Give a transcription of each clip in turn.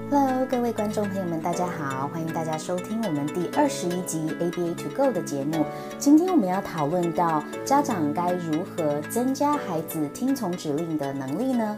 Hello， 各位观众朋友们，大家好，欢迎大家收听我们第21集 ABA to Go 的节目。今天我们要讨论到家长该如何增加孩子听从指令的能力呢？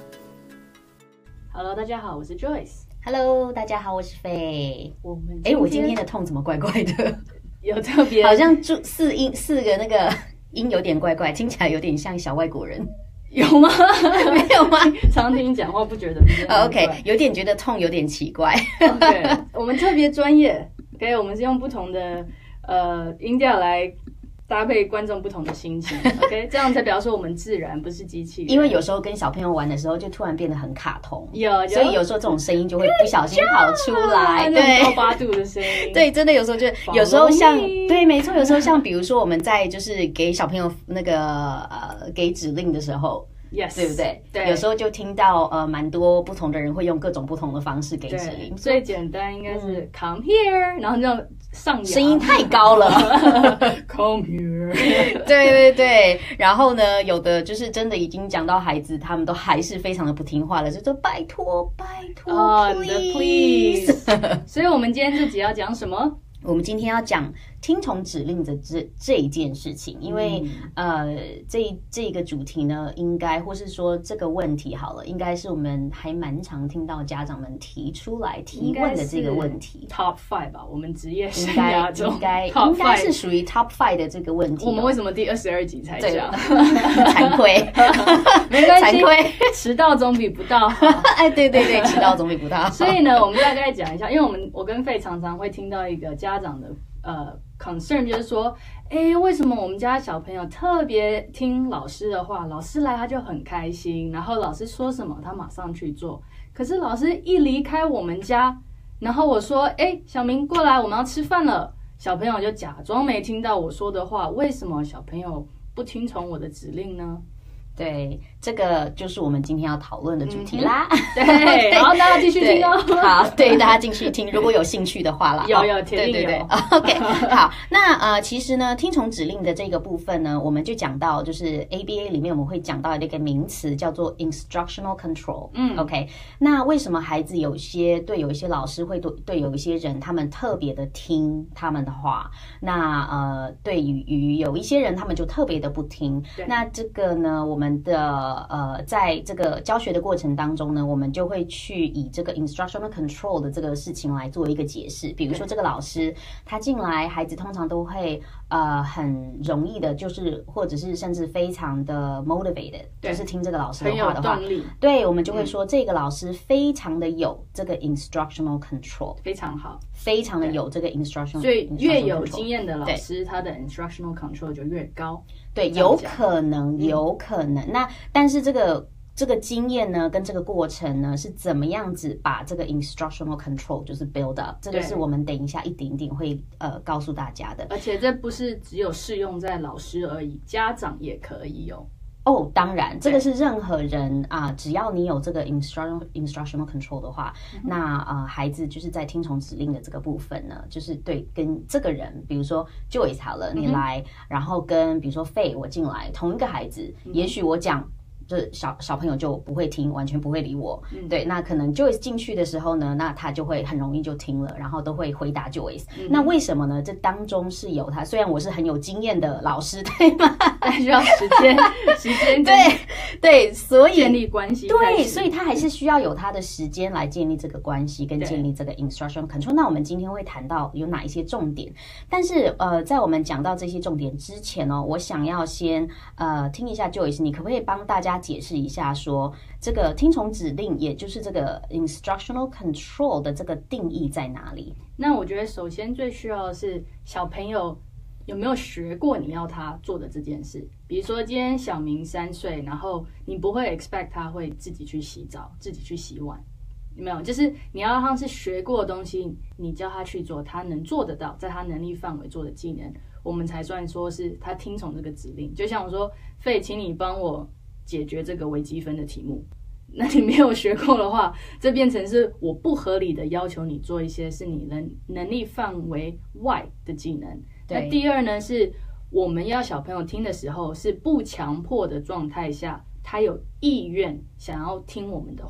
Hello， 大家好，我是 Joyce。Hello， 大家好，我是Faye。我今天的痛怎么怪怪的？ 有特别， 好像四个那个音有点怪怪，听起来有点像小外国人。 有吗？ 没有吗？ 常听你讲话不觉得 ？OK， 有点觉得痛，有点奇怪。 OK， 我们特别专业。OK， 我们是用不同的音调来搭配观众不同的心情。OK， 这样才表示我们自然，不是机器人。 因为有时候跟小朋友玩的时候，就突然变得很卡通。 所以有时候这种声音就会不小心跑出来， 对，高八度的声音。 对，真的有时候就有时候像对，没错，有时候像比如说我们在就是给小朋友那个给指令的时候。 Yes， 对不对？ 对， 有时候就听到蛮多不同的人会用各种不同的方式给指令。 最简单应该是 come here， 然后这样上扬， 声音太高了 come here。 对，然后呢，有的就是真的已经讲到孩子，他们都还是非常的不听话了，就说拜托，please。 所以我们今天这集要讲什么？ 我们今天要讲听从指令的这一件事情，因为这个主题呢，应该或是说这个问题好了，应该是我们还蛮常听到家长们提出来提问的这个问题。 Top 5吧，我们职业生涯中应该是属于 Top 5的这个问题。 我们为什么第22集才讲？ 惭愧， 没关系， 惭愧， 迟到总比不到好。 哎，对，迟到总比不到好。 所以呢，我们大概讲一下，因为我跟Faye常常会听到一个家长的concern， 就是说，为什么我们家小朋友特别听老师的话，老师来他就很开心，然后老师说什么他马上去做，可是老师一离开我们家，然后我说，小明过来，我们要吃饭了，小朋友就假装没听到我说的话，为什么小朋友不听从我的指令呢？ 对，这个就是我们今天要讨论的主题啦。 对，好，大家继续听哦。 好，对，大家继续听，如果有兴趣的话啦。 有，铁定有。 对 OK， 好，那其实呢，听从指令的这个部分呢，我们就讲到，就是 ABA 里面我们会讲到一个名词叫做 instructional control。OK， 那为什么孩子有一些老师会对有一些人他们特别的听他们的话，那对于有一些人他们就特别的不听。那这个呢，我们的在这个教学的过程当中呢，我们就会去以这个 instructional control 的这个事情来做一个解释。比如说这个老师他进来，孩子通常都会很容易的，就是或者是甚至非常的 motivated， 就是听这个老师的话的话， 很有动力。 对，我们就会说这个老师非常的有这个 instructional control， 非常好， 非常的有这个 instructional control。 所以越有经验的老师，他的 instructional control 就越高。 对，有可能。那但是这个经验呢，跟这个过程呢，是怎么样子把这个 instructional control 就是 build up， 这个是我们等一下一点点会告诉大家的。 而且这不是只有适用在老师而已，家长也可以有。 当然，这个是任何人只要你有这个 instructional control 的话，那孩子就是在听从指令的这个部分呢，就是对跟这个人，比如说 Joyce 好了，你来，然后跟比如说 Faye 我进来，同一个孩子，也许我讲。就是小朋友就不会听，完全不会理我。对，那可能 Joyce 进去的时候呢，那他就会很容易就听了，然后都会回答 Joyce。那为什么呢？这当中是有他，虽然我是很有经验的老师，对吗？ 但需要时间对，所以建立关系。 对，所以他还是需要有他的时间来建立这个关系，跟建立这个 instruction control。那我们今天会谈到有哪一些重点，但是在我们讲到这些重点之前呢，我想要先听一下 Joyce， 你可不可以帮大家解释一下说这个听从指令，也就是这个 instructional control 的这个定义在哪里？ 那我觉得首先最需要的是小朋友有没有学过你要他做的这件事。比如说今天小明3岁，然后你不会 expect 他会自己去洗澡，自己去洗碗，有没有？就是你要让他是学过的东西，你叫他去做，他能做得到，在他能力范围做的技能，我们才算说是他听从这个指令。就像我说，Faye，请你帮我解决这个微积分的题目，那你没有学过的话，这变成是我不合理的要求你做一些是你能力范围外的技能。那第二呢，是我们要小朋友听的时候是不强迫的状态下，他有意愿想要听我们的话。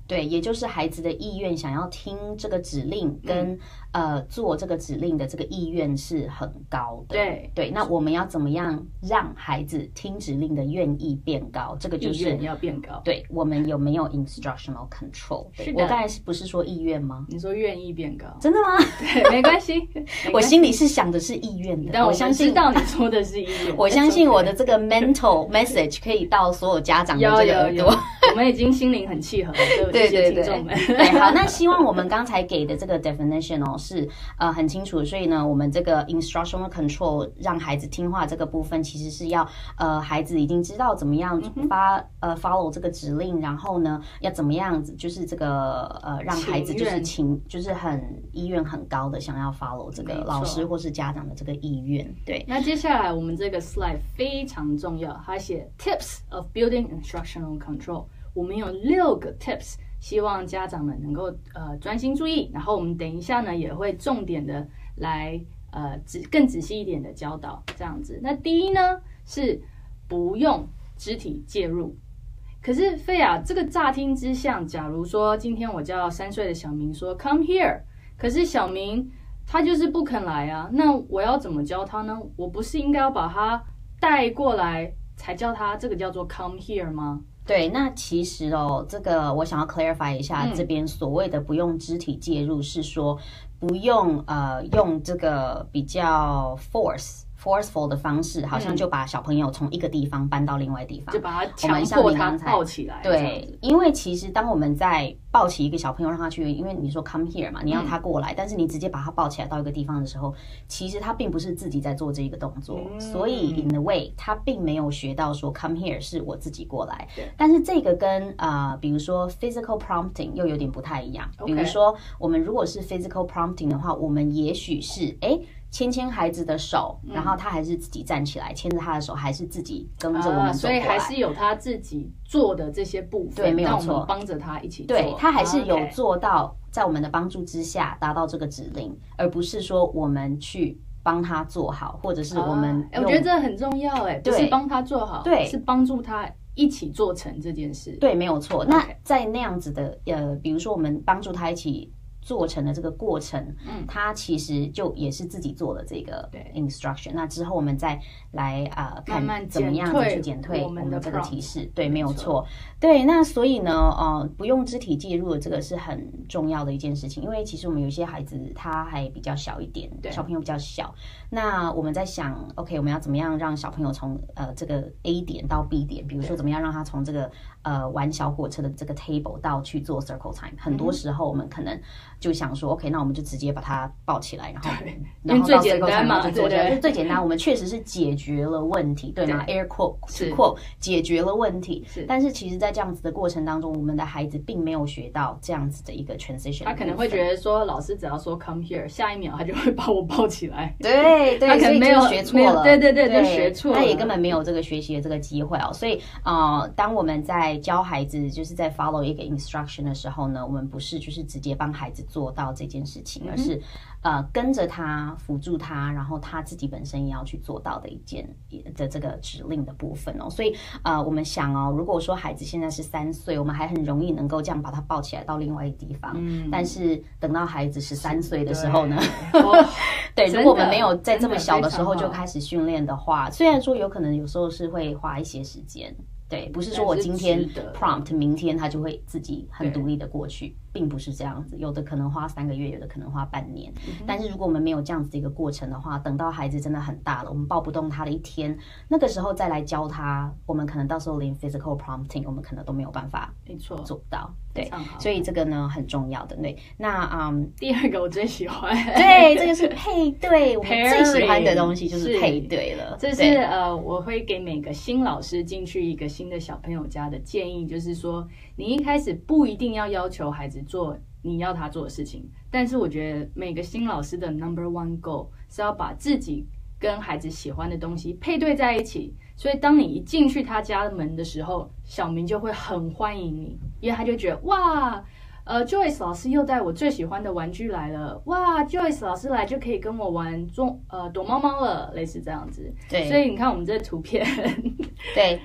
对，也就是孩子的意愿，想要听这个指令跟做这个指令的这个意愿是很高的。对，那我们要怎么样让孩子听指令的愿意变高？这个就是意愿要变高。 对，我们有没有 instructional control？ 我刚才不是说意愿吗？ 你说愿意变高， 真的吗？ 对，没关系， 我心里是想的是意愿的， 但我相信知道你说的是意愿。 我相信我的这个 mental message 可以到所有家长的这个耳朵。 我们已经心灵很契合了，对这些听众们。 对，好，那希望我们刚才给的这个 definition 是很清楚，所以呢，我们这个 instructional control 让孩子听话这个部分，其实是要孩子已经知道怎么样follow 这个指令，然后呢，要怎么样子，就是这个让孩子就是很意愿很高的想要 follow 这个老师或是家长的这个意愿。对， 那接下来我们这个 slide 非常重要，它写 tips of building instructional control。我们有6个 tips， 希望家长们能够专心注意。然后我们等一下呢也会重点的来更仔细一点的教导这样子。那第一呢是不用肢体介入。可是菲亚，这个乍听之下，假如说今天我叫3岁的小明说 come here， 可是小明他就是不肯来啊，那我要怎么教他呢？我不是应该要把他带过来才叫他，这个叫做 come here 吗？ 对，那其实这个我想要 clarify 一下，这边所谓的不用肢体介入，是说不用用这个比较 forceful 的方式，好像就把小朋友从一个地方搬到另外地方， 就把他强迫他抱起来。 对，因为其实当我们在抱起一个小朋友让他去，因为你说 come here 嘛，你要他过来，但是你直接把他抱起来到一个地方的时候，其实他并不是自己在做这个动作，所以 in a way 他并没有学到说 come here 是我自己过来。但是这个跟比如说 physical prompting 又有点不太一样。比如说我们如果是 physical prompting 的话，我们也许是牵孩子的手，然后他还是自己站起来，牵着他的手，还是自己跟着我们走过来， 所以还是有他自己做的这些部分， 对，没有错， 帮着他一起做， 对，他还是有做到在我们的帮助之下达到这个指令，而不是说我们去帮他做好，或者是我们我觉得这很重要，不是帮他做好，对，是帮助他一起做成这件事， 对，没有错。那在那样子的比如说我们帮助他一起做成的这个过程，他其实就也是自己做的这个 instruction。那之后我们再来看怎么样子去减退我们这个提示，对，没有错。对，那所以呢，不用肢体介入的这个是很重要的一件事情，因为其实我们有些孩子他还比较小一点，小朋友比较小。那我们在想 ，OK， 我们要怎么样让小朋友从这个 A 点到 B 点，比如说怎么样让他从这个玩小火车的这个 table 到去做 circle time。很多时候我们可能就想说 ，OK， 那我们就直接把它抱起来，然后最简单嘛， 就做起来，就最简单。我们确实是解决了问题，对吗 ？Air quote to quote 解决了问题。但是其实，在这样子的过程当中，我们的孩子并没有学到这样子的一个 transition。 他可能会觉得说，老师只要说 come here， 下一秒他就会把我抱起来。 对，他可能没有学错了， 对，就学错了， 他也根本没有这个学习的这个机会哦。所以当我们在教孩子，就是在 follow 一个 instruction 的时候呢，我们不是就是直接帮孩子做到这件事情，而是跟着他辅助他，然后他自己本身也要去做到的一件的这个指令的部分哦。所以我们想如果说孩子现在是3岁，我们还很容易能够这样把他抱起来到另外一个地方，但是等到孩子13岁的时候呢，对，如果我们没有在这么小的时候就开始训练的话，虽然说有可能有时候是会花一些时间。对，不是说我今天 prompt， 明天他就会自己很独立的过去，并不是这样子。有的可能花3个月，有的可能花半年。但是如果我们没有这样子的一个过程的话，等到孩子真的很大了，我们抱不动他的一天，那个时候再来教他，我们可能到时候连 physical prompting 我们可能都没有办法做不到。对，所以这个呢很重要的。对，那第2个我最喜欢， 对，这个是配对，我们最喜欢的东西就是配对了。 这是我会给每个新老师进去一个新的小朋友家的建议，就是说你一开始不一定要求孩子做你要他做的事情，但是我觉得每个新老师的 number1 goal 是要把自己跟孩子喜欢的东西配对在一起，所以当你一进去他家门的时候，小明就会很欢迎你，因为他就觉得哇Joyce 老师又带我最喜欢的玩具来了，哇 Joyce 老师来就可以跟我玩躲猫猫了，类似这样子。对，所以你看我们这图片对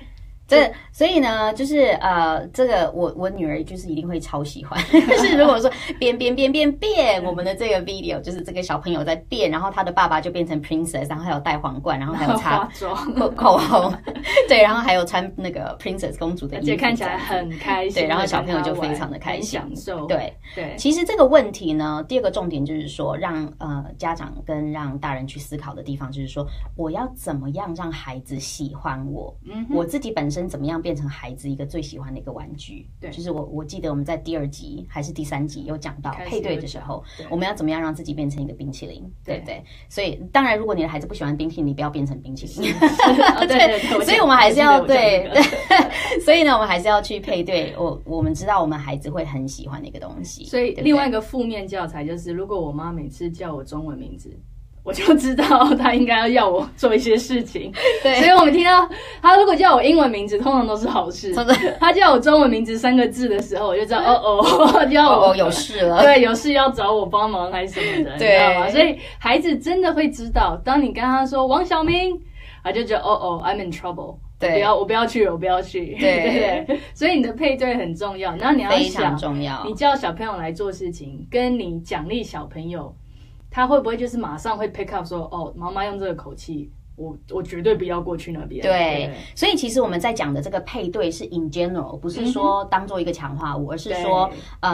所以呢，就是这个我女儿就是一定会超喜欢。就是如果说变我们的这个 video， 就是这个小朋友在变，然后他的爸爸就变成 princess， 然后还有戴皇冠，然后还有擦口红，对，然后还有穿那个 princess 公主的衣服， 而且看起来很开心， 对，然后小朋友就非常的开心， 享受。 对。其实这个问题呢，第二个重点就是说，让家长跟让大人去思考的地方，就是说，我要怎么样让孩子喜欢我？我自己本身怎么样变成孩子一个最喜欢的一个玩具？对，就是我记得我们在第2集还是第3集有讲到配对的时候，我们要怎么样让自己变成一个冰淇淋？对不对？所以当然，如果你的孩子不喜欢冰淇淋，你不要变成冰淇淋。对，所以我们还是要对，所以呢，我们还是要去配对。我们知道我们孩子会很喜欢的一个东西。 所以另外一个负面教材就是，如果我妈每次叫我中文名字，我就知道她应该要我做一些事情。对，所以我们听到她如果叫我英文名字，通常都是好事。她叫我中文名字3个字的时候，我就知道叫我有事了。 对，有事要找我帮忙还是什么的，你知道吗？所以孩子真的会知道，当你跟他说王小明，他就觉得I'm in trouble。对，我不要去，对，所以你的配对很重要，然后你要想， 非常重要。 你叫小朋友来做事情，跟你奖励小朋友，他会不会就是马上会 pick up 说，妈妈用这个口气，我绝对不要过去那边。 对，所以其实我们在讲的这个配对是 in general， 不是说当做一个强化物，而是说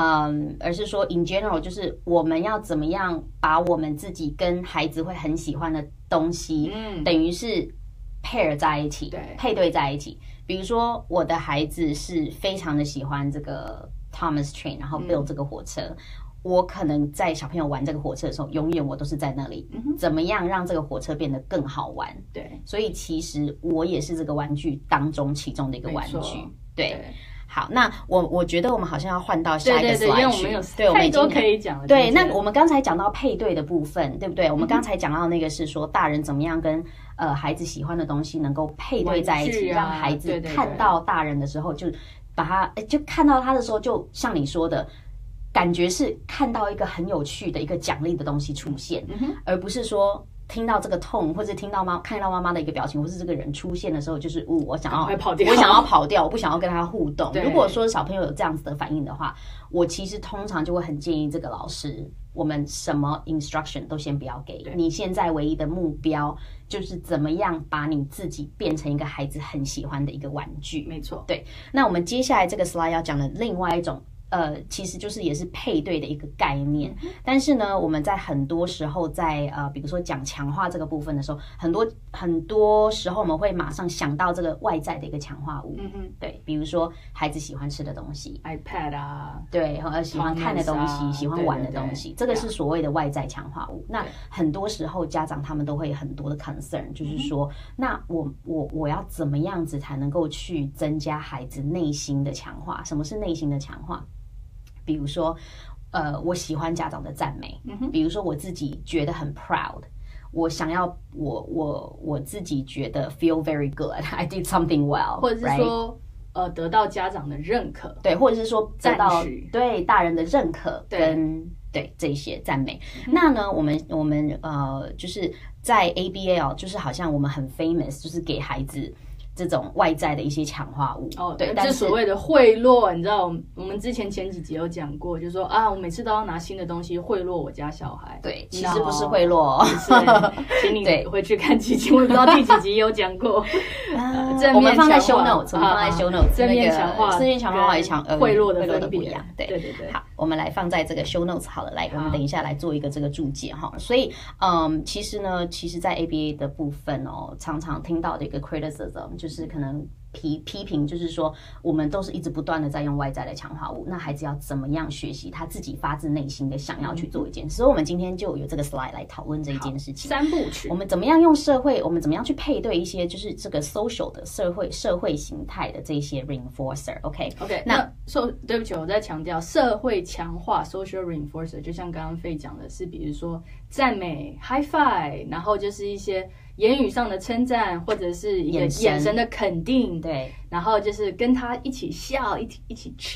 in general， 就是我们要怎么样把我们自己跟孩子会很喜欢的东西，等于是pair 在一起，配对在一起。比如说我的孩子是非常的喜欢这个 Thomas Train， 然后 build 这个火车，我可能在小朋友玩这个火车的时候，永远我都是在那里，怎么样让这个火车变得更好玩？对，所以其实我也是这个玩具当中其中的一个玩具，对。好，那我觉得我们好像要换到下一个 slide 去， 因为我们有太多可以讲了。 对，那我们刚才讲到配对的部分，对不对？我们刚才讲到那个是说大人怎么样跟孩子喜欢的东西能够配对在一起，让孩子看到大人的时候就把他就看到他的时候，就像你说的，感觉是看到一个很有趣的一个奖励的东西出现，而不是说听到这个痛，或者看到妈妈的一个表情，或是这个人出现的时候，就是我想要跑掉，我不想要跟他互动。如果说小朋友有这样子的反应的话，我其实通常就会很建议这个老师，我们什么 instruction 都先不要给，你现在唯一的目标就是怎么样把你自己变成一个孩子很喜欢的一个玩具。 没错， 对。那我们接下来这个 slide 要讲的另外一种。其实就是也是配对的一个概念，但是呢，我们在很多时候在比如说讲强化这个部分的时候，很多时候我们会马上想到这个外在的一个强化物，对，比如说孩子喜欢吃的东西 ，iPad 啊， 对，喜欢看的东西，喜欢玩的东西，这个是所谓的外在强化物。那很多时候家长他们都会很多的 concern， 就是说，那我要怎么样子才能够去增加孩子内心的强化？什么是内心的强化？比如说，我喜欢家长的赞美，比如说我自己觉得很 proud， 我想要我自己觉得 feel very good，I did something well， 或者是说得到家长的认可， 对，或者是说得到对大人的认可跟对这些赞美。那呢，我们就是在 ABA 就是好像我们很 famous， 就是给孩子这种外在的一些强化物， 对，但是所谓的贿赂，你知道，我们之前几集有讲过，就是说我每次都要拿新的东西贿赂我家小孩。 对，其实不是贿赂， 请你回去看几集，我不知道第几集有讲过。 我们放在 show notes， 正面强化、 正面强化和贿赂的不一样。对。好，我们来放在这个 show notes 好了，来，我们等一下来做一个这个注解哈。所以，其实在 ABA 的部分常常听到的一个 criticism。就是可能批评，就是说我们都是一直不断的在用外在的强化物，那孩子要怎么样学习他自己发自内心的想要去做一件事？所以我们今天就有这个 slide 来讨论这一件事情。 3部曲， 我们怎么样用社会，我们怎么样去配对一些就是这个 social 的社会形态的这些 reinforcer。OK， 那对不起，我再强调社会强化 social reinforcer， 就像刚刚Faye讲的是，比如说赞美 high five， 然后就是一些言语上的称赞，或者是一个眼神的肯定， 对， 然后就是跟他一起笑，一起 cheer，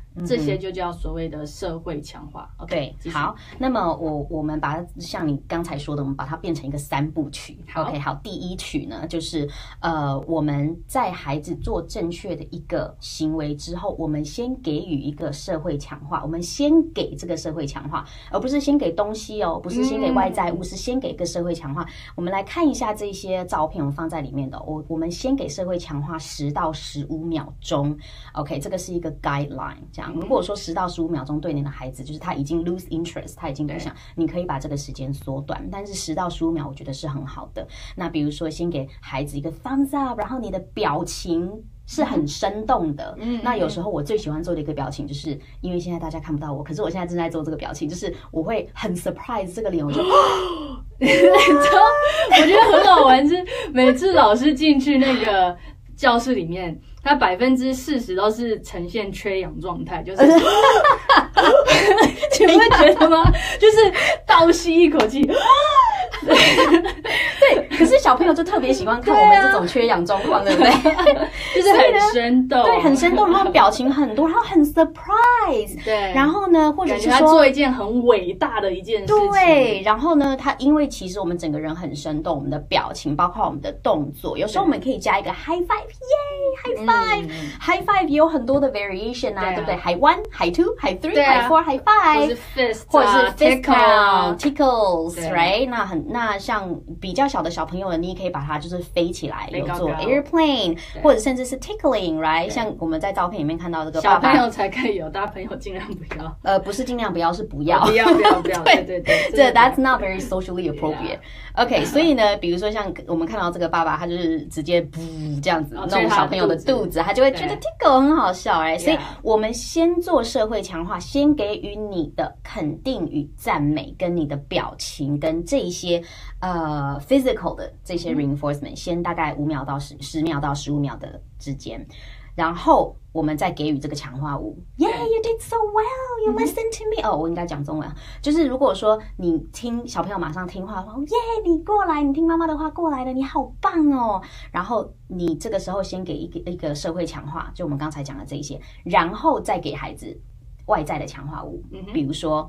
这些就叫所谓的社会强化。 对，好，那么我们把它像你刚才说的，我们把它变成一个3部曲。OK， 好，第一曲呢，就是我们在孩子做正确的一个行为之后，我们先给予一个社会强化，我们先给这个社会强化，而不是先给东西哦，不是先给外在物，是先给一个社会强化。我们来看一下这些照片，我们放在里面的，我们先给社会强化10到15秒钟。OK， 这个是一个 guideline。这样，如果说10到15秒钟对你的孩子，就是他已经 lose interest， 他已经不想，你可以把这个时间缩短，但是10到15秒我觉得是很好的。那比如说先给孩子一个 thumbs up， 然后你的表情是很生动的。那有时候我最喜欢做的一个表情，就是因为现在大家看不到我，可是我现在正在做这个表情，就是我会很 surprise 这个脸，我就我觉得很好玩，是每次老师进去那个教室里面，他40%都是呈现缺氧状态，就是你会觉得吗？就是倒吸一口气。 对，可是小朋友就特别喜欢看我们这种缺氧状况，对不对？ 就是很生动， 对，很生动，然后表情很多，然后很 surprise， 对， 然后呢，或者是说他做一件很伟大的一件事情， 对，然后呢，他因为其实我们整个人很生动，我们的表情，包括我们的动作，有时候我们可以加一个 high five， 耶 ，high five，high five 也有很多的 variation 啊，对不对 ？high 1 high 2 high 3 high 4 high 5， 或者是 fist tickles，right？ 那像比较小的小朋友呢，你也可以把它就是飞起来，有做 airplane， 或者甚至是 tickling，right？ 像我们在照片里面看到这个爸爸， 小朋友才可以有，大朋友尽量不要。 不是尽量不要，是不要， 不要。对， 这 that's not very socially appropriate。OK， 所以呢，比如说像我们看到这个爸爸，他就是直接不这样子弄小朋友的肚子，他就会觉得 tickle 很好笑，哎，所以我们先做社会强化，先给予你的肯定与赞美，跟你的表情，跟这一些physical 的这些 reinforcement， 先大概5秒到10秒到15秒的之间。然后我们再给予这个强化物 ，Yeah, you did so well, you listen to me。我应该讲中文，就是如果说你听小朋友马上听话的话，Yeah， 你过来，你听妈妈的话过来了，你好棒哦。然后你这个时候先给一个社会强化，就我们刚才讲的这一些，然后再给孩子外在的强化物，比如说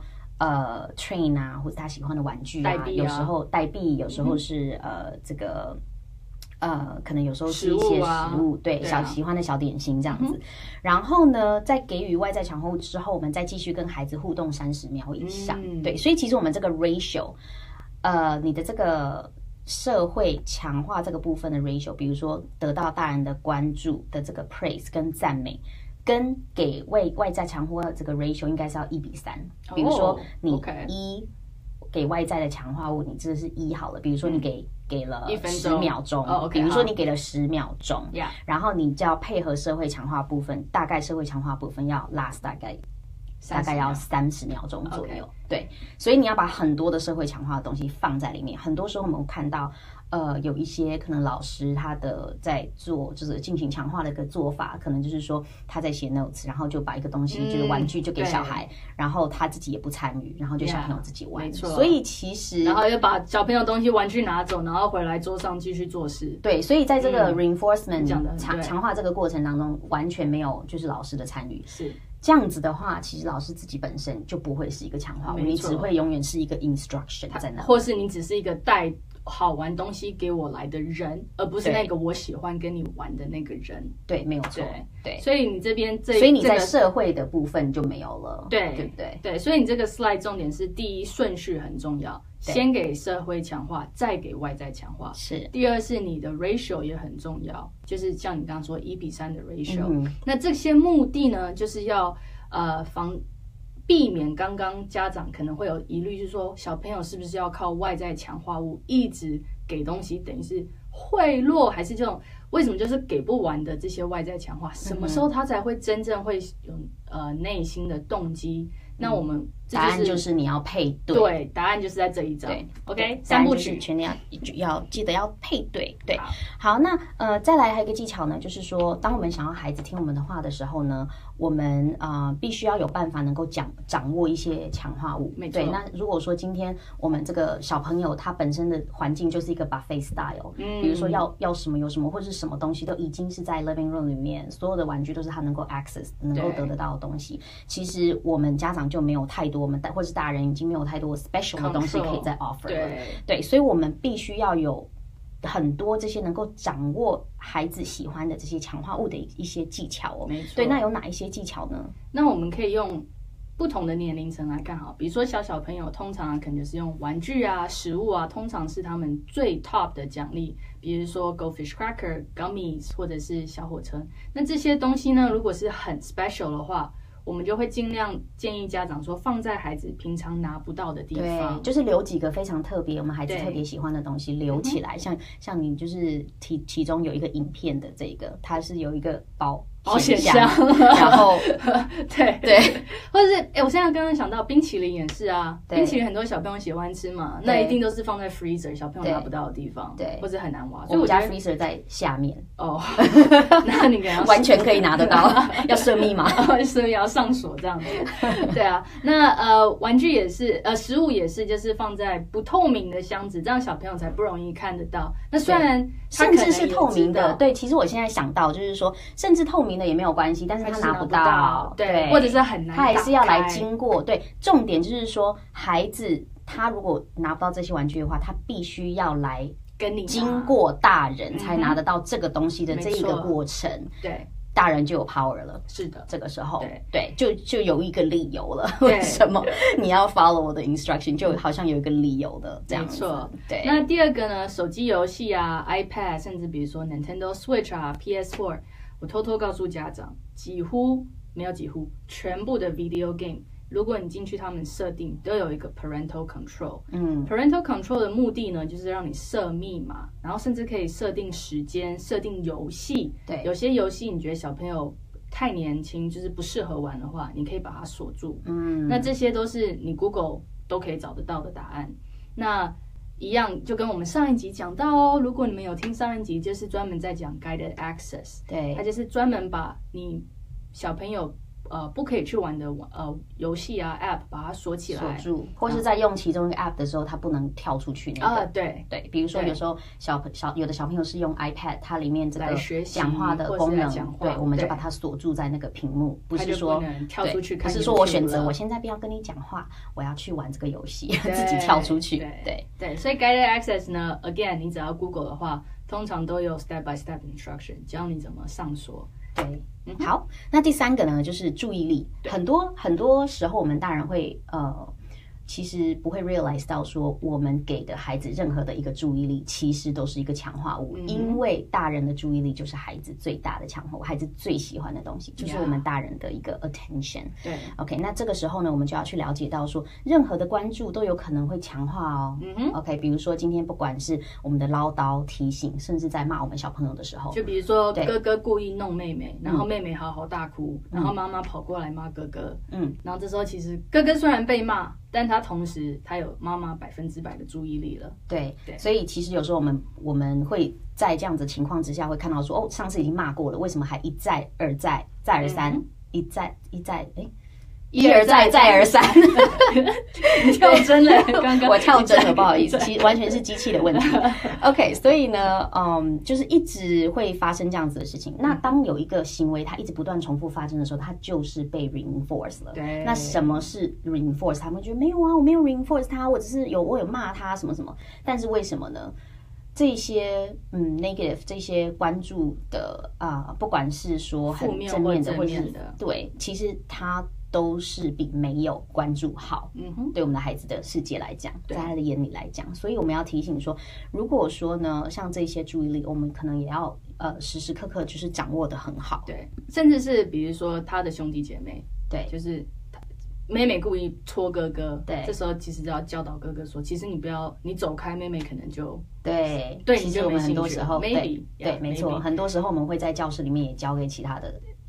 train 啊，或者他喜欢的玩具啊，有时候代币，有时候是这个。可能有时候是一些食物，对，喜欢的小点心这样子。然后呢，在给予外在强化物之后，我们再继续跟孩子互动30秒以上。对，所以其实我们这个 ratio， 你的这个社会强化这个部分的 ratio， 比如说得到大人的关注的这个 praise 跟赞美，跟给外在强化这个 ratio 应该是要1:3。比如说你给外在的强化物，你这是1好了。比如说你给了10秒钟，比如说你给了10秒钟，然后你就要配合社会强化部分，大概社会强化部分要 last 大概要30秒钟左右。对，所以你要把很多的社会强化的东西放在里面。很多时候我们看到有一些可能老师他的在做就是进行强化的一个做法，可能就是说他在写 notes， 然后就把一个东西就是玩具就给小孩，然后他自己也不参与，然后就小朋友自己玩。所以其实然后又把小朋友东西玩具拿走，然后回来桌上继续做事。 对，所以在这个 reinforcement 强化这个过程当中，完全没有就是老师的参与。 是。 这样子的话，其实老师自己本身就不会是一个强化物，你只会永远是一个 instruction 在那， 或是你只是一个带好玩东西给我来的人，而不是那个我喜欢跟你玩的那个人。 对，没有错。对， 所以你这边所以你在社会的部分就没有了，对不对？ 对，所以你这个 slide 重点是第一顺序很重要，先给社会强化，再给外在强化。 是。 第二是你的 ratio 也很重要，就是像你刚刚说1:3的 ratio。那这些目的呢，就是要避免刚刚家长可能会有疑虑，就是说小朋友是不是要靠外在强化物一直给东西，等于是贿赂，还是这种为什么就是给不完的这些外在强化，什么时候他才会真正会有内心的动机？那我们答案就是你要配对。 对，答案就是在这一章。 对 ，OK， 三部曲全要记得要配对。对，好，那再来还有一个技巧呢，就是说，当我们想要孩子听我们的话的时候呢，我们必须要有办法能够掌握一些强化物。 没错。 对，那如果说今天我们这个小朋友他本身的环境就是一个 buffet style，比如说要什么有什么，或者是什么东西都已经是在 living room 里面，所有的玩具都是他能够 access 能够得到的东西。其实我们家长就没有太多，或是大人已经没有太多 special 的东西可以再 offer 了。对，所以我们必须要有很多这些能够掌握孩子喜欢的这些强化物的一些技巧哦。 没错。 对，那有哪一些技巧呢？ 那我们可以用不同的年龄层来看好，比如说小朋友通常可能就是用玩具啊、食物啊，通常是他们最 top 的奖励，比如说 Goldfish Cracker、Gummies 或者是小火车。那这些东西呢，如果是很 special 的话，我们就会尽量建议家长说放在孩子平常拿不到的地方， 对，就是留几个非常特别，我们孩子特别喜欢的东西留起来。像你就是其中有一个影片的这个，它是有一个保险箱，然后对， 或者是我现在刚刚想到冰淇淋也是啊，冰淇淋很多小朋友喜欢吃嘛，那一定都是放在 freezer 小朋友拿不到的地方，对，或者很难挖。 所以我家 freezer 在下面哦，那你可能完全可以拿得到，要设密码， 所以要上锁这样子。对啊，那玩具也是，食物也是，就是放在不透明的箱子，这样小朋友才不容易看得到。那虽然甚至是透明的，对，其实我现在想到就是说，甚至透明的也没有关系，但是他拿不到， 对，或者是很难， 他还是要来经过。对，重点就是说，孩子他如果拿不到这些玩具的话，他必须要来跟你经过大人才拿得到这个东西的这一个过程。 对。 大人就有 power 了， 是的， 这个时候，对，就有一个理由了。为什么你要 follow 我的 instruction？ 就好像有一个理由的这样子。 没错， 对。 那第二个呢？手机游戏啊 ，iPad， 甚至比如说 Nintendo Switch 啊 ，PS4， 我偷偷告诉家长，全部的 video game。如果你进去他们设定都有一个 parental control，parental control 的目的呢，就是让你设密码，然后甚至可以设定时间、设定游戏。 对， 有些游戏你觉得小朋友太年轻，就是不适合玩的话，你可以把它锁住。那这些都是你 Google 都可以找得到的答案。那一样就跟我们上一集讲到哦，如果你们有听上一集，就是专门在讲 guided access， 对， 它就是专门把你小朋友不可以去玩的游戏啊 App 把它锁起来， 锁住，或是在用其中一个 App 的时候，它不能跳出去那个。 对， 比如说有时候有的小朋友是用 iPad， 它里面这个讲话的功能，对，我们就把它锁住在那个屏幕，不是说跳出去， 不是说我选择我现在不要跟你讲话，我要去玩这个游戏，自己跳出去。 对，所以 guided access 呢 ，again 你只要 Google 的话，通常都有 step by step instruction 教你怎么上锁。 对，好，那第三个呢，就是注意力。很多时候，我们大人会其实不会 realize 到说，我们给的孩子任何的一个注意力，其实都是一个强化物，因为大人的注意力就是孩子最大的强化物，孩子最喜欢的东西，就是我们大人的一个 attention。 对 ，OK， 那这个时候呢，我们就要去了解到说，任何的关注都有可能会强化哦。OK， 比如说今天不管是我们的唠叨、提醒，甚至在骂我们小朋友的时候， 就比如说哥哥故意弄妹妹，然后妹妹嚎嚎大哭，然后妈妈跑过来骂哥哥，然后这时候其实哥哥虽然被骂，但他同时他有妈妈100%的注意力了。对， 所以其实有时候我们会在这样子情况之下会看到说，上次已经骂过了，为什么还一再而再再而三，一而再再而三？ 你跳针了，刚刚我跳针了，不好意思，其实完全是机器的问题。OK， 所以呢，就是一直会发生这样子的事情。那当有一个行为它一直不断重复发生的时候，它就是被 reinforce 了。 对。 那什么是 reinforce？ 他们觉得没有啊，我没有 reinforce 他，我只是我有骂他什么什么。但是为什么呢？这些negative 这些关注的不管是说很正面的，或者是对，其实它都是比没有关注好。对我们的孩子的世界来讲，在他的眼里来讲，所以我们要提醒说，如果说呢，像这些注意力，我们可能也要时时刻刻就是掌握的很好。 对，甚至是比如说他的兄弟姐妹，对，就是妹妹故意戳哥哥，对，这时候其实就要教导哥哥说，其实你不要，你走开，妹妹可能就对， 你就没兴趣。 很多时候 maybe 对，没错，很多时候我们会在教室里面也教给其他的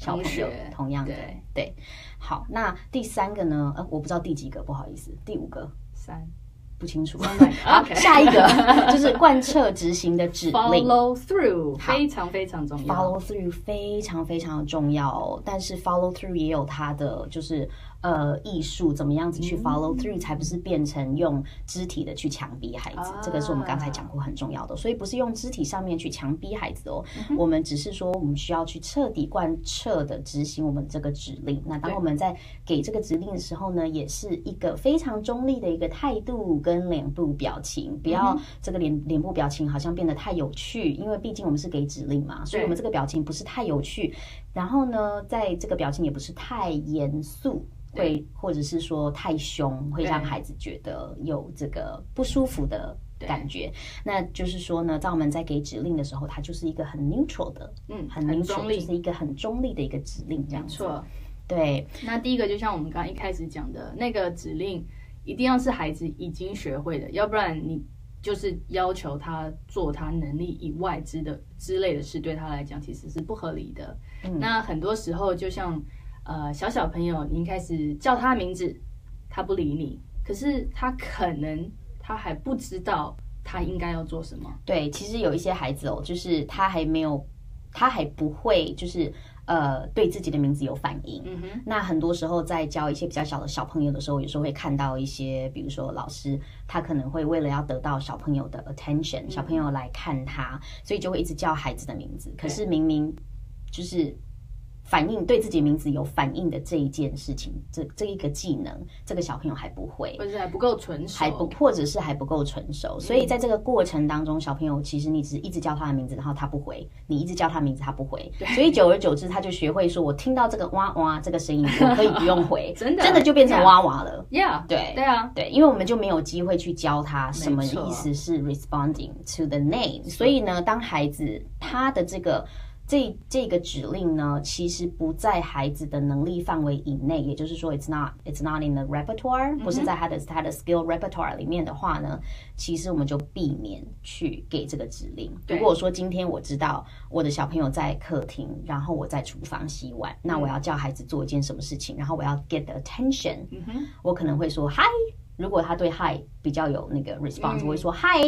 小朋友同样的，对。好，那第3个呢？我不知道第几个，不好意思，第5个 ，3。 不清楚。好，下一个就是贯彻执行的指令 ，follow through 非常非常重要 ，follow through 非常非常重要哦。但是 follow through 也有它的就是艺术，怎么样子去 follow through 才不是变成用肢体的去强逼孩子，这个是我们刚才讲过很重要的。所以不是用肢体上面去强逼孩子哦，我们只是说我们需要去彻底贯彻的执行我们这个指令。那当我们在给这个指令的时候呢，也是一个非常中立的一个态度跟脸部表情，不要这个脸部表情好像变得太有趣，因为毕竟我们是给指令嘛，所以我们这个表情不是太有趣，然后呢，在这个表情也不是太严肃，会或者是说太凶，会让孩子觉得有这个不舒服的感觉。那就是说呢，在我们在给指令的时候，它就是一个很 neutral 的，很 neutral，就是一个很中立的一个指令，这样子。没错，对。 那第一个就像我们刚刚一开始讲的那个指令，一定要是孩子已经学会的，要不然你就是要求他做他能力以外之类的事，对他来讲其实是不合理的。那很多时候就像小朋友，你一开始叫他名字，他不理你，可是他可能他还不知道他应该要做什么。 对，其实有一些孩子哦，就是他还不会，就是对自己的名字有反应。那很多时候在教一些比较小的小朋友的时候，有时候会看到一些，比如说老师他可能会为了要得到小朋友的 attention，小朋友来看他，所以就会一直叫孩子的名字，可是明明就是反应对自己名字有反应的这一件事情，这一个技能，这个小朋友还不会， 或者还不够纯熟， 或者是还不够成熟。所以在这个过程当中，小朋友其实你只一直叫他的名字，然后他不回，你一直叫他名字，他不回，所以久而久之，他就学会说，我听到这个哇哇这个声音，我可以不用回，真的就变成哇哇了。对，因为我们就没有机会去教他什么意思是 responding to the name。所以呢，当孩子他的这个指令呢，其实不在孩子的能力范围以内，也就是说 it's not in the repertoire， 不是在他的 skill repertoire 里面的话呢，其实我们就避免去给这个指令。如果说今天我知道我的小朋友在客厅，然后我在厨房洗碗，那我要叫孩子做一件什么事情，然后我要 get the attention，我可能会说 hi， 如果他对 hi 比较有那个 response，我会说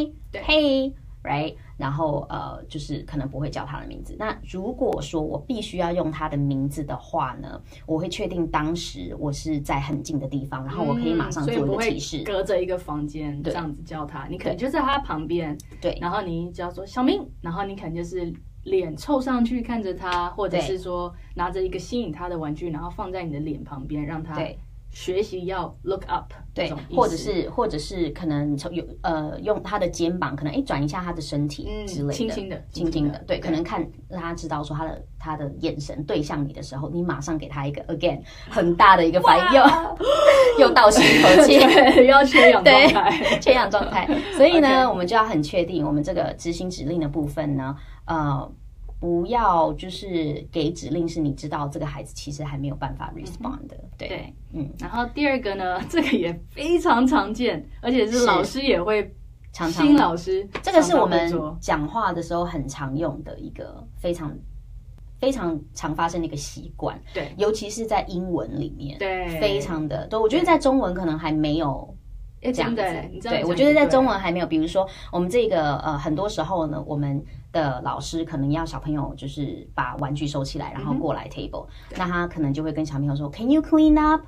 hi，hey。Right， 然后就是可能不会叫他的名字。那如果说我必须要用他的名字的话呢，我会确定当时我是在很近的地方，然后我可以马上做一个提示， 隔着一个房间这样子叫他，你可能就在他旁边，对，然后你只要说小明，然后你可能就是脸凑上去看着他，或者是说拿着一个吸引他的玩具，然后放在你的脸旁边，让他学习要 look up， 对，或者是可能用他的肩膀，可能转一下他的身体之类的，轻轻的，对，可能看让他知道说他的眼神对向你的时候，你马上给他一个 again 很大的一个反应，又倒吸一口气， 对，要缺氧状态， 缺氧状态。所以呢，我们就要很确定我们这个执行指令的部分呢，不要就是给指令是你知道这个孩子其实还没有办法 respond 的，对， 然后第二个呢，这个也非常常见，而且是老师也会新老师， 这个是我们讲话的时候很常用的一个非常非常常发生的一个习惯，对，尤其是在英文里面，对，非常的多。我觉得在中文可能还没有。这样子，对，我觉得在中文还没有，比如说我们这个很多时候呢，我们的老师可能要小朋友就是把玩具收起来，然后过来 table，那他可能就会跟小朋友说 ，Can you clean up?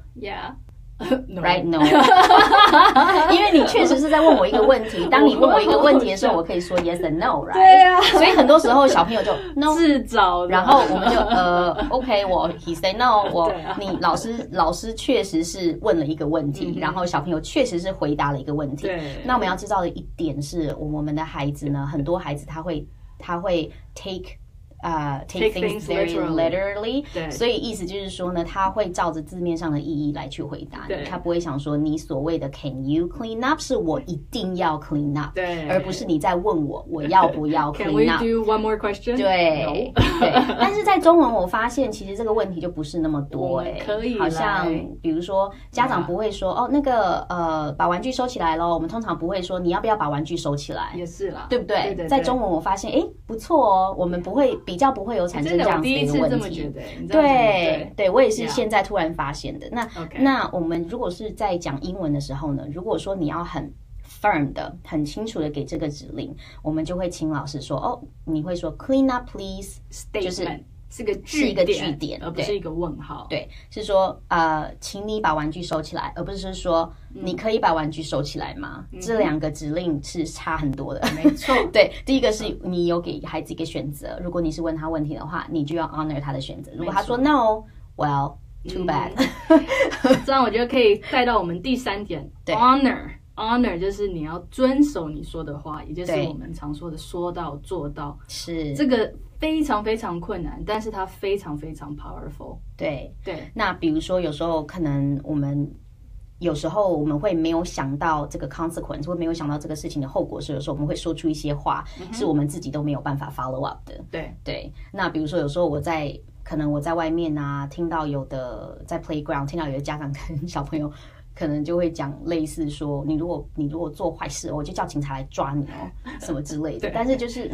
Yeah.Right no， 因为你确实是在问我一个问题。当你问我一个问题的时候，我可以说 yes and no， right？ 对啊， 所以很多时候小朋友就 no 自找， 然后我们就OK， he say no， 你老师确实是问了一个问题，然后小朋友确实是回答了一个问题。那我们要知道的一点是，我们的孩子呢，很多孩子他会 take things very literally， 所以意思就是说呢，他会照着字面上的意义来去回答你，他不会想说你所谓的 Can you clean up 是我一定要 clean up， 而不是你在问我要不要 clean up。 Can we do one more question？ 对，但是在中文我发现其实这个问题就不是那么多， 可以好像比如说家长不会说那个把玩具收起来咯，我们通常不会说你要不要把玩具收起来， 也是啦， 对不对？在中文我发现不错哦，我们不会比较不会有产生这样子的一个问题。对，我也是现在突然发现的。那我们如果是在讲英文的时候呢，如果说你要很firm 的、很清楚的给这个指令，我们就会请老师说，哦，你会说 clean up please， 就是是一个句点， 而不是一个问号。 对，是说请你把玩具收起来，而不是说你可以把玩具收起来吗？这两个指令是差很多的。 没错， 对，第一个是你有给孩子一个选择，如果你是问他问题的话，你就要 honor 他的选择。如果他说 no，well，too bad。 这样我觉得可以带到我们第3点 ，honor 就是你要遵守你说的话，也就是我们常说的说到做到。 是这个非常非常困难，但是它非常非常 powerful。 对。那比如说有时候可能我们会没有想到这个 consequence， 或没有想到这个事情的后果，所以有时候我们会说出一些话，是我们自己都没有办法 follow up 的。对。那比如说有时候可能我在外面啊，听到有的在 playground 听到有的家长跟小朋友可能就会讲类似说，你如果做坏事，我就叫警察来抓你哦，什么之类的。但是就是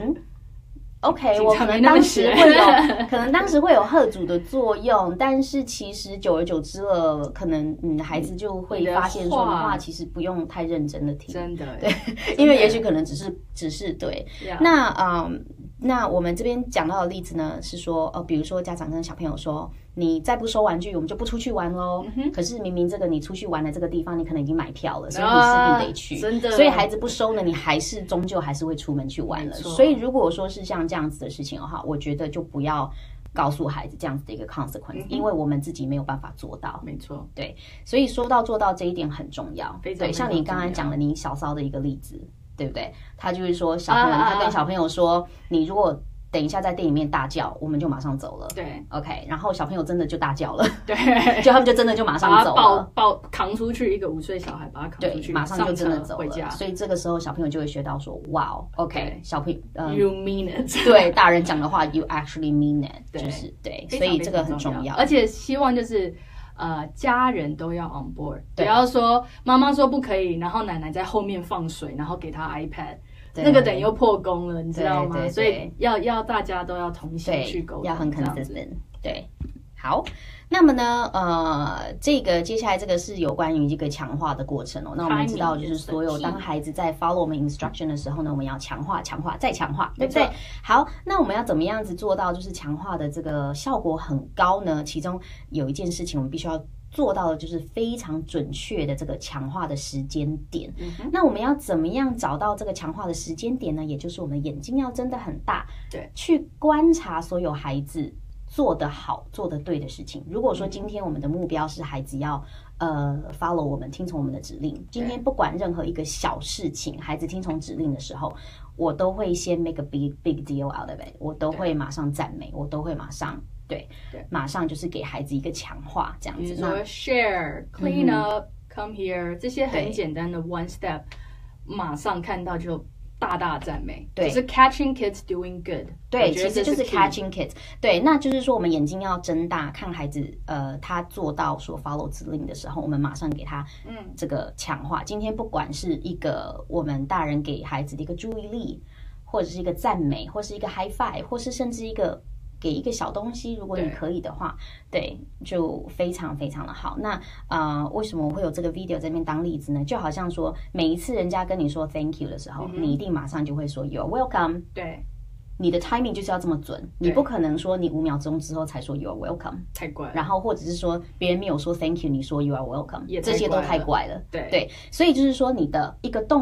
OK， 我可能当时会有嚇阻的作用，但是其实久而久之了，可能孩子就会发现说的话其实不用太认真的听， 真的对，因为也许可能只是对。那我们这边讲到的例子呢，是说比如说家长跟小朋友说，你再不收玩具，我们就不出去玩咯。可是明明这个你出去玩的这个地方，你可能已经买票了，所以你势必得去。 真的。 所以孩子不收呢，你终究还是会出门去玩了。所以如果说是像这样子的事情的话，我觉得就不要告诉孩子这样子的一个 consequence，因为我们自己没有办法做到。 没错。 对，所以说到做到这一点很重要。 非常对，像你刚刚讲的你小骚的一个例子，对不对？他就是说他跟小朋友说，你如果等一下在店里面大叫，我们就马上走了。 对 ，OK， 然后小朋友真的就大叫了， 对， 就他们就真的就马上走了， 扛出去，一个5岁小孩把他扛出去， 对，马上就真的走回家。 所以这个时候小朋友就会学到说，哇 ，OK， 小朋友 ，You mean it， 对，大人讲的话 ，You actually mean it， 就是对，所以这个很重要， 而且希望就是家人都要 on board， 不要说妈妈说不可以，然后奶奶在后面放水，然后给他 iPad。那个等于又破功了，你知道吗？所以要大家都要同心去沟通， 要很 consistent。对，好，那么呢，这个接下来这个是有关于一个强化的过程哦。那我们知道，就是所有当孩子在 follow 我们 instruction 的时候呢，我们要强化、再强化，对不对？好，那我们要怎么样子做到就是强化的这个效果很高呢？其中有一件事情我们必须要做到的就是非常准确的这个强化的时间点。那我们要怎么样找到这个强化的时间点呢？也就是我们的眼睛要睁得很大， 对， 去观察所有孩子做得好、做得对的事情。如果说今天我们的目标是孩子要follow 我们、听从我们的指令，今天不管任何一个小事情，孩子听从指令的时候，我都会先 make a big deal out of it， 我都会马上赞美，我都会马上。对，马上就是给孩子一个强化，这样子。 比如说 share、clean up、come here 这些很简单的 one step， 马上看到就大大赞美。对，就是 catching kids doing good。 对，其实就是 catching kids。对，那就是说我们眼睛要睁大，看孩子他做到说 follow 指令的时候，我们马上给他这个强化。今天不管是一个我们大人给孩子的一个注意力，或者是一个赞美，或是一个 high five， 或是甚至给一个小东西，如果你可以的话，对，就非常非常的好。那为什么我会有这个 video 在那边当例子呢？就好像说，每一次人家跟你说 thank you 的时候，你一定马上就会说 you're welcome。 对， 你的 timing 就是要这么准，你不可能说你5秒钟之后才说 you're welcome， 太怪了。 然后或者是说别人没有说 thank you， 你说 you are welcome， 这些都太怪了。 对， 所以就是说你的一个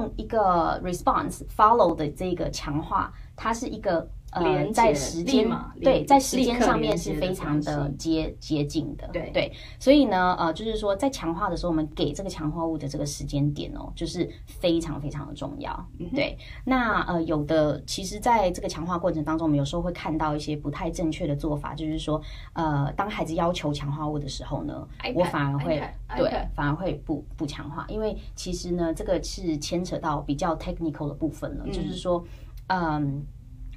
response follow 的这个强化，它是一个在时间在时间上面是非常的接近的。对，所以呢就是说在强化的时候，我们给这个强化物的这个时间点哦，就是非常非常的重要。对，那有的其实在这个强化过程当中，我们有时候会看到一些不太正确的做法，就是说当孩子要求强化物的时候呢，我反而会不强化，因为其实呢这个是牵扯到比较 technical 的部分了，就是说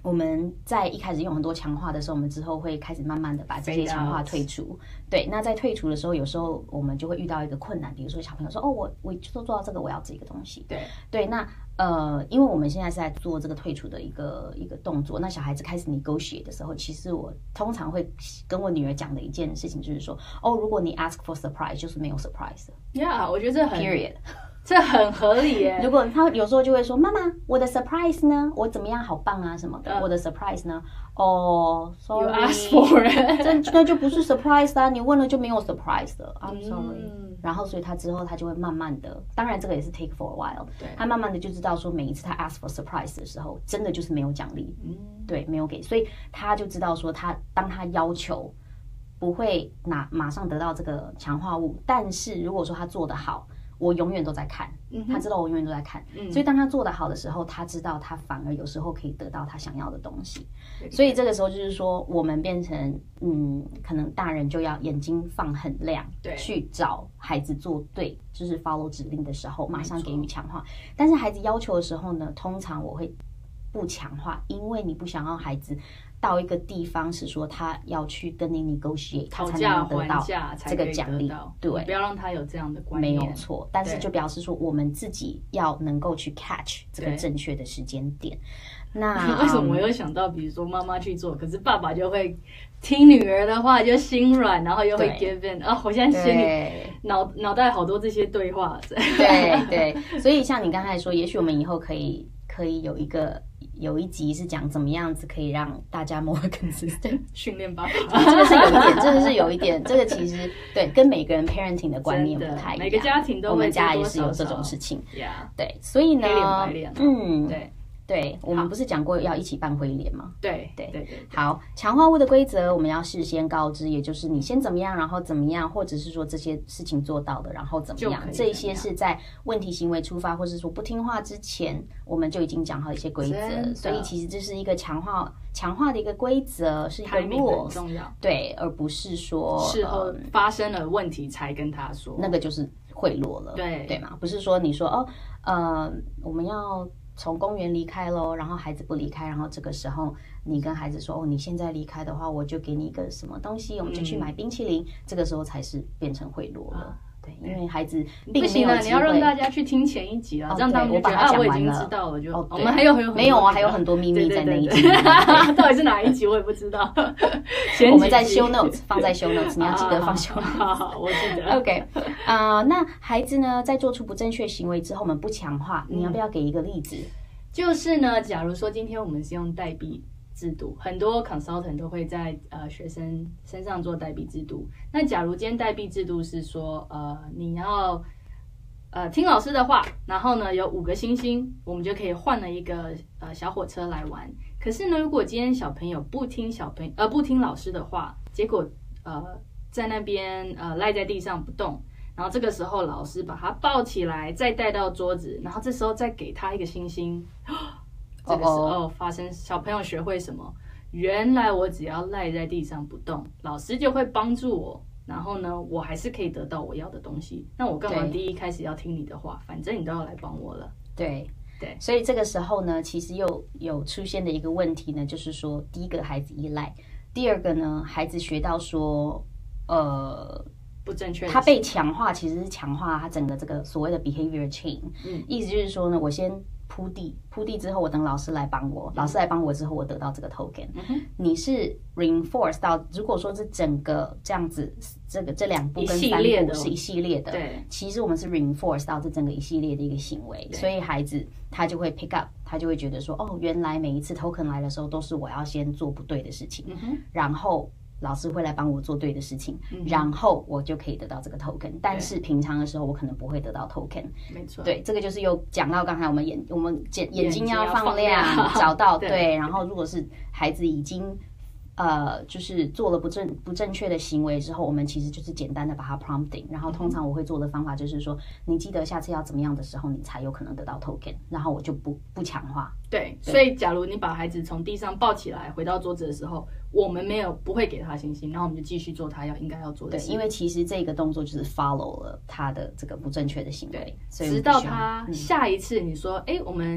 我们在一开始用很多强化的时候，我们之后会开始慢慢的把这些强化退除。对，那在退除的时候，有时候我们就会遇到一个困难，比如说小朋友说，哦，我就做到这个，我要这个东西。对，那因为我们现在是在做这个退除的一个动作，那小孩子开始negotiate的时候，其实我通常会跟我女儿讲的一件事情就是说，哦，如果你 ask for surprise， 就是没有 surprise 的。 Yeah， 我觉得这很 period。 这很合理耶。 如果他有时候就会说，妈妈，我的 surprise 呢？我怎么样，好棒啊什么的。我的 surprise 呢？哦 ，sorry， you ask for it， 那就不是 surprise 啦，你问了就没有 surprise 的。I'm sorry。然后所以他之后他就会慢慢的，当然这个也是 take for a while， 他慢慢的就知道说，每一次他 ask for surprise 的时候，真的就是没有奖励，对，没有给，所以他就知道说当他要求不会马上得到这个强化物，但是如果说他做得好。我永远都在看，他知道我永远都在看，所以当他做得好的时候，他知道他反而有时候可以得到他想要的东西，所以这个时候就是说，我们变成可能大人就要眼睛放很亮，去找孩子做对，就是 follow 指令的时候，马上给予强化。但是孩子要求的时候呢，通常我会不强化，因为你不想要孩子到一个地方是说他要去跟你 negotiate， 他才能得到这个奖励，对， 不要让他有这样的观念， 没有错。但是就表示说，我们自己要能够去 catch 这个正确的时间点。那为什么我又想到，比如说妈妈去做，可是爸爸就会听女儿的话，就心软，然后又会 give in 啊！我现在心里脑袋好多这些对话。 对，所以像你刚才说，也许我们以后可以有一集是讲怎么样子可以让大家 more consistent 训练爸爸， 这个是有一点，这个其实对跟每个人 parenting 的观念不太一样， 每个家庭都会， 我们家也是有这种事情，对，所以呢， 黑脸白脸， 对，我们不是讲过要一起办灰脸吗？ 对。 好，强化物的规则我们要事先告知，也就是你先怎么样，然后怎么样，或者是说这些事情做到的，然后怎么样，这一些是在问题行为出发，或是说不听话之前，我们就已经讲好一些规则，所以其实这是一个强化的一个规则，是一个 rules， 很重要， 对，而不是说事后发生了问题才跟他说， 那个就是贿赂了，对吗？不是说你说我们要从公园离开咯，然后孩子不离开，然后这个时候你跟孩子说，你现在离开的话，我就给你一个什么东西，我们就去买冰淇淋，这个时候才是变成贿赂了。对，因为孩子并没有机会， 你要让大家去听前一集啊，这样他们就觉得我已经知道了，就我们还有没有啊，还有很多秘密在那一集， 到底是哪一集我也不知道。 我们在 show notes 放在 show notes， 你要记得放 show notes。 好，我记得。 OK， 那孩子呢，在做出不正确行为之后，我们不强化，你要不要给一个例子？ 就是呢，假如说今天我们是用代币制度，很多 consultant 都会在学生身上做代币制度。那假如今天代币制度是说你要听老师的话，然后呢有5个星星，我们就可以换了一个小火车来玩。可是呢，如果今天小朋友不听老师的话，结果在那边赖在地上不动。然后这个时候老师把他抱起来，再带到桌子，然后这时候再给他一个星星。这个时候发生小朋友学会什么？原来我只要赖在地上不动，老师就会帮助我，然后呢，我还是可以得到我要的东西。那我干嘛第一开始要听你的话？反正你都要来帮我了。 对，所以这个时候呢，其实又有出现的一个问题呢，就是说，第一个孩子依赖，第二个呢，孩子学到说， 不正确， 他被强化，其实是强化他整个这个所谓的 behavior chain。意思就是说呢，我先铺地之后，我等老师来帮我，老师来帮我之后，我得到这个 token。你是 reinforce 到，如果说是整个这样子，这2步跟3步是一系列的， 对， 其实我们是 reinforce 到这整个一系列的一个行为，所以孩子他就会 pick up， 他就会觉得说，原来每一次 token 来的时候，都是我要先做不对的事情，然后老师会来帮我做对的事情，然后我就可以得到这个 token。但是平常的时候，我可能不会得到 token。 没错， 对，这个就是又讲到刚才我们眼睛要放亮，找到对。然后如果是孩子已经就是做了不正确的行为之后，我们其实就是简单的把它 prompting。然后通常我会做的方法就是说，你记得下次要怎么样的时候，你才有可能得到 token。然后我就不强化。 对，所以假如你把孩子从地上抱起来回到桌子的时候，我们不会给他星星，然后我们就继续做他应该要做的事。 对，因为其实这个动作就是 follow 了他的这个不正确的行为，所以直到他下一次你说，我们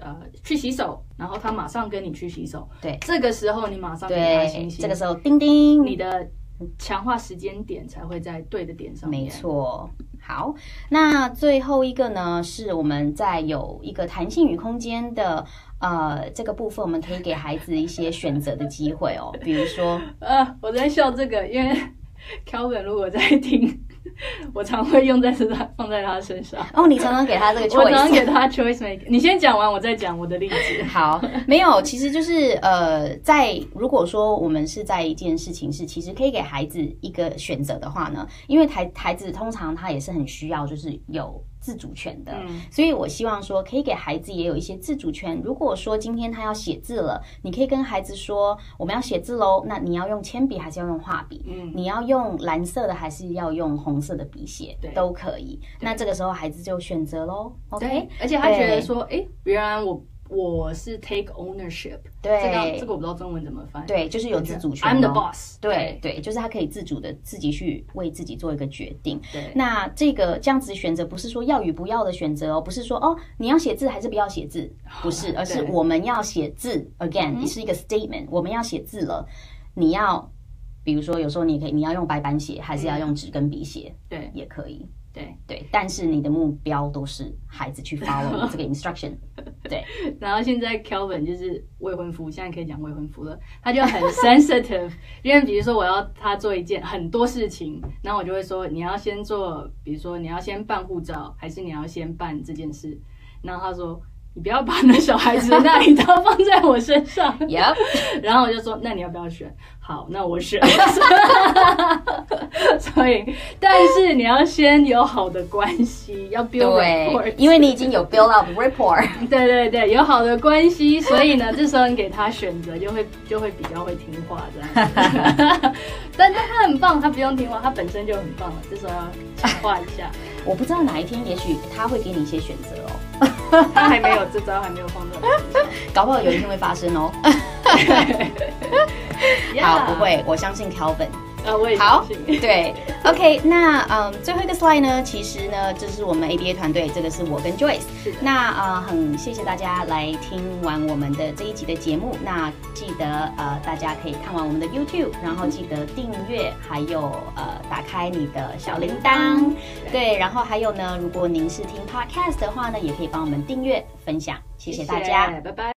去洗手，然后他马上跟你去洗手， 对， 这个时候你马上给他星星， 这个时候叮叮， 你的强化时间点才会在对的点上面。 没错。好，那最后一个呢，是我们在有一个弹性与空间的这个部分，我们可以给孩子一些选择的机会哦。比如说， 我在笑这个，因为 Calvin 如果在听，我常会放在他身上。 哦，你常常给他这个 choice， 我常常给他 choice make。你先讲完，我再讲我的例子。 好，没有，其实就是如果说我们是在一件事情是，其实可以给孩子一个选择的话呢，因为孩子通常他也是很需要就是有自主权的，所以我希望说可以给孩子也有一些自主权。如果说今天他要写字了，你可以跟孩子说我们要写字咯，那你要用铅笔还是要用画笔？你要用蓝色的还是要用红色的笔写？都可以。那这个时候孩子就选择咯 OK， 而且他觉得说，原来我是 take ownership， 对， 这个我不知道中文怎么翻。 对，就是有自主权。 I'm the boss。 对，就是他可以自主的自己去为自己做一个决定。 对， 那这样子选择不是说要与不要的选择哦，不是说你要写字还是不要写字，不是，而是我们要写字。Again， 是一个 statement， 我们要写字了，你要，比如说有时候你要用白板写，还是要用纸跟笔写， 对， 也可以。 对， 但是你的目标都是孩子去 follow 这个 instruction。对， 然后现在 Calvin 就是未婚夫，现在可以讲未婚夫了，他就很 sensitive， 因为比如说我要他做一件很多事情，然后我就会说你要先做，比如说你要先办护照，还是你要先办这件事，然后他说你不要把那小孩子的那一套放在我身上。 Yep 然后我就说那你要不要选？好，那我选。所以，但是你要先有好的关系，要 build rapport， 因为你已经有 build up rapport。 对，有好的关系，所以呢，这时候你给他选择，就会比较会听话这样子。但他很棒，他不用听话，他本身就很棒了。这时候要强化一下。 我不知道哪一天，也许他会给你一些选择哦。 他还没有这招，还没有放在我身上， 搞不好有一天会发生哦。好，不会，我相信 Calvin。 我也相信。 好，对 ，OK， 那最后一个 slide 呢，其实呢，这是我们 ABA 团队，这个是我跟 Joyce。那很谢谢大家来听完我们的这一集的节目。那记得大家可以看完我们的 YouTube， 然后记得订阅，还有打开你的小铃铛。对，然后还有呢，如果您是听 Podcast 的话呢，也可以帮我们订阅分享，谢谢大家， 拜拜。